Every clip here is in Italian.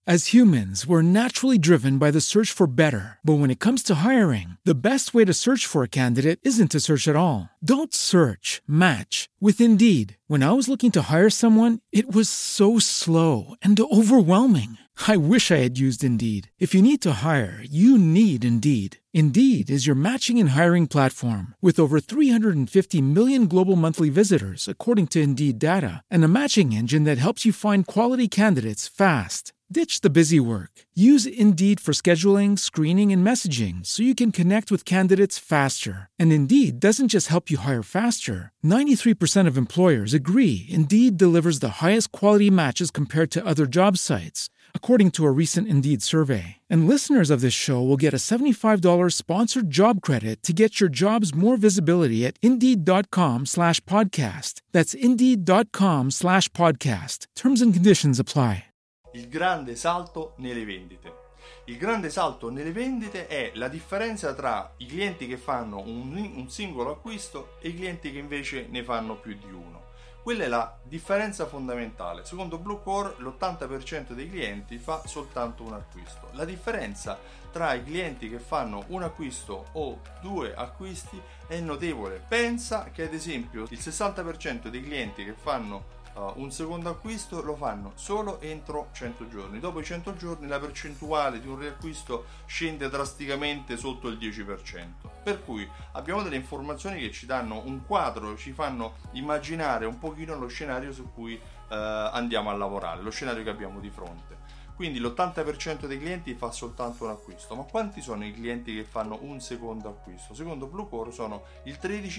As humans, we're naturally driven by the search for better. But when it comes to hiring, the best way to search for a candidate isn't to search at all. Don't search, match with Indeed. When I was looking to hire someone, it was so slow and overwhelming. I wish I had used Indeed. If you need to hire, you need Indeed. Indeed is your matching and hiring platform with over 350 million global monthly visitors, according to Indeed data, and a matching engine that helps you find quality candidates fast. Ditch the busy work. Use Indeed for scheduling, screening, and messaging so you can connect with candidates faster. And Indeed doesn't just help you hire faster. 93% of employers agree Indeed delivers the highest quality matches compared to other job sites, according to a recent Indeed survey. And listeners of this show will get a $75 sponsored job credit to get your jobs more visibility at Indeed.com/podcast. That's Indeed.com/podcast. Terms and conditions apply. Il grande salto nelle vendite. Il grande salto nelle vendite è la differenza tra i clienti che fanno un singolo acquisto e i clienti che invece ne fanno più di uno. Quella è la differenza fondamentale. Secondo Bluecore l'80% dei clienti fa soltanto un acquisto. La differenza tra i clienti che fanno un acquisto o due acquisti è notevole. Pensa che ad esempio il 60% dei clienti che fanno un secondo acquisto lo fanno solo entro 100 giorni. Dopo i 100 giorni la percentuale di un riacquisto scende drasticamente sotto il 10%. Per cui abbiamo delle informazioni che ci danno un quadro, ci fanno immaginare un pochino lo scenario su cui andiamo a lavorare, lo scenario che abbiamo di fronte. Quindi l'80% dei clienti fa soltanto un acquisto, ma quanti sono i clienti che fanno un secondo acquisto? Secondo Bluecore sono il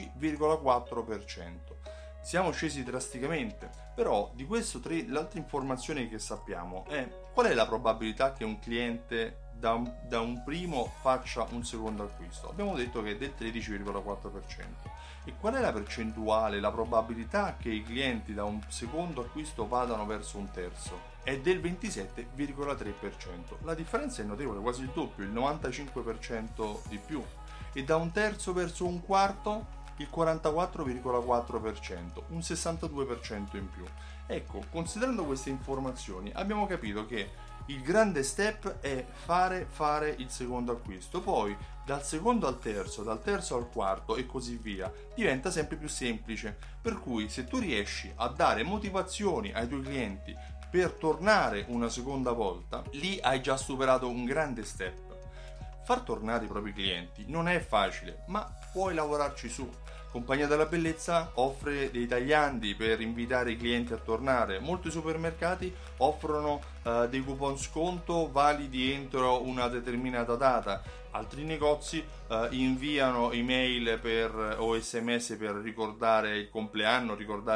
13,4%. Siamo scesi drasticamente, però di questo l'altra informazione che sappiamo è qual è la probabilità che un cliente da un primo faccia un secondo acquisto. Abbiamo detto che è del 13,4%. E qual è la percentuale, la probabilità che i clienti da un secondo acquisto vadano verso un terzo? È del 27,3%. La differenza è notevole, quasi il doppio, il 95% di più. E da un terzo verso un quarto il 44,4%, un 62% in più. Ecco, considerando queste informazioni, abbiamo capito che il grande step è fare il secondo acquisto. Poi, dal secondo al terzo, dal terzo al quarto e così via, diventa sempre più semplice. Per cui, se tu riesci a dare motivazioni ai tuoi clienti per tornare una seconda volta, lì hai già superato un grande step. Far tornare i propri clienti non è facile, ma puoi lavorarci su. Compagnia della Bellezza offre dei tagliandi per invitare i clienti a tornare. Molti supermercati offrono dei coupon sconto validi entro una determinata data. Altri negozi inviano email o SMS per ricordare il compleanno,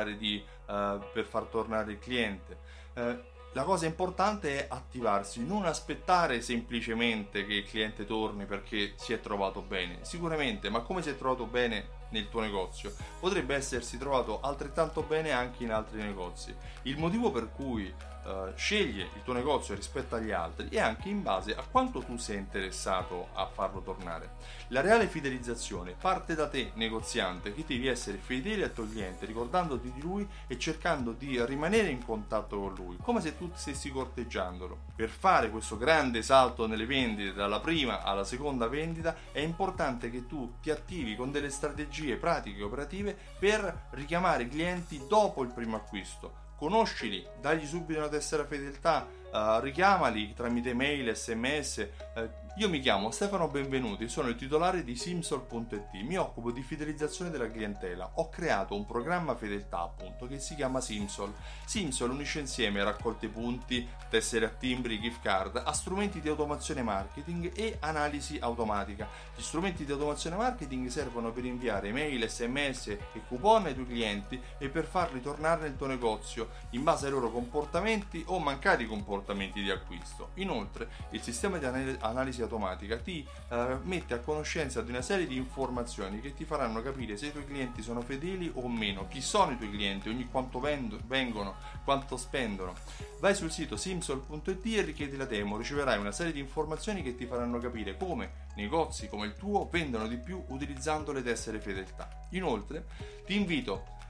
per far tornare il cliente. La cosa importante è attivarsi, non aspettare semplicemente che il cliente torni perché si è trovato bene. Sicuramente, ma come si è trovato bene nel tuo negozio, potrebbe essersi trovato altrettanto bene anche in altri negozi. Il motivo per cui sceglie il tuo negozio rispetto agli altri è anche in base a quanto tu sei interessato a farlo tornare. La reale fidelizzazione parte da te, negoziante, che devi essere fedele al tuo cliente, ricordandoti di lui e cercando di rimanere in contatto con lui, come se tu stessi corteggiandolo. Per fare questo grande salto nelle vendite dalla prima alla seconda vendita è importante che tu ti attivi con delle strategie pratiche e operative per richiamare i clienti dopo il primo acquisto. Conoscili, dagli subito una tessera fedeltà, richiamali tramite mail, sms. Io mi chiamo Stefano Benvenuti, sono il titolare di Simsol.it, mi occupo di fidelizzazione della clientela. Ho creato un programma fedeltà appunto che si chiama Simsol. Simsol unisce insieme raccolte punti, tessere a timbri, gift card a strumenti di automazione marketing e analisi automatica. Gli strumenti di automazione marketing servono per inviare mail, sms e coupon ai tuoi clienti e per farli tornare nel tuo negozio in base ai loro comportamenti o mancati comportamenti di acquisto. Inoltre, il sistema di analisi automatica ti mette a conoscenza di una serie di informazioni che ti faranno capire se i tuoi clienti sono fedeli o meno, chi sono i tuoi clienti, ogni quanto vengono, quanto spendono. Vai sul sito simsol.it e richiedi la demo, riceverai una serie di informazioni che ti faranno capire come negozi come il tuo vendono di più utilizzando le tessere fedeltà. Inoltre, ti invito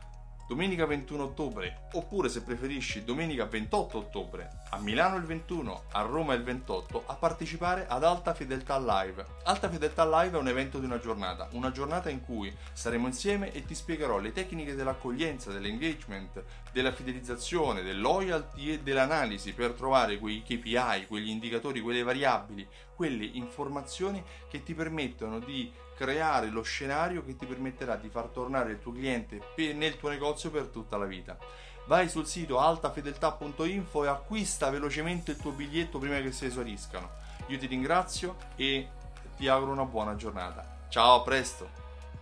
domenica 21 ottobre, oppure se preferisci domenica 28 ottobre, a Milano il 21, a Roma il 28, a partecipare ad Alta Fedeltà Live. Alta Fedeltà Live è un evento di una giornata in cui saremo insieme e ti spiegherò le tecniche dell'accoglienza, dell'engagement, della fidelizzazione, del loyalty e dell'analisi per trovare quei KPI, quegli indicatori, quelle variabili, quelle informazioni che ti permettono di creare lo scenario che ti permetterà di far tornare il tuo cliente nel tuo negozio per tutta la vita. Vai sul sito altafedeltà.info e acquista velocemente il tuo biglietto prima che si esauriscano. Io ti ringrazio e ti auguro una buona giornata. Ciao, a presto!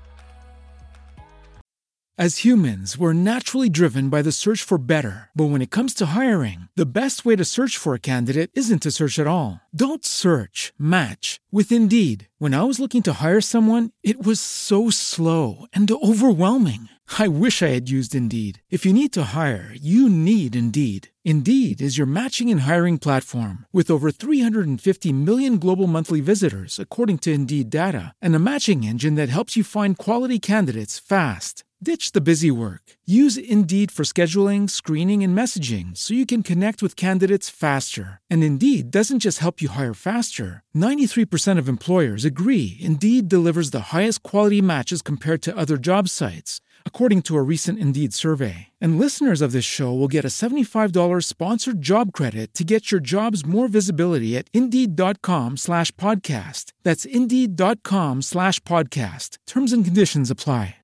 As humans, we're naturally driven by the search for better. But when it comes to hiring, the best way to search for a candidate isn't to search at all. Don't search, match with Indeed. When I was looking to hire someone, it was so slow and overwhelming. I wish I had used Indeed. If you need to hire, you need Indeed. Indeed is your matching and hiring platform with over 350 million global monthly visitors, according to Indeed data, and a matching engine that helps you find quality candidates fast. Ditch the busy work. Use Indeed for scheduling, screening, and messaging so you can connect with candidates faster. And Indeed doesn't just help you hire faster. 93% of employers agree Indeed delivers the highest quality matches compared to other job sites, according to a recent Indeed survey. And listeners of this show will get a $75 sponsored job credit to get your jobs more visibility at Indeed.com/podcast. That's Indeed.com/podcast. Terms and conditions apply.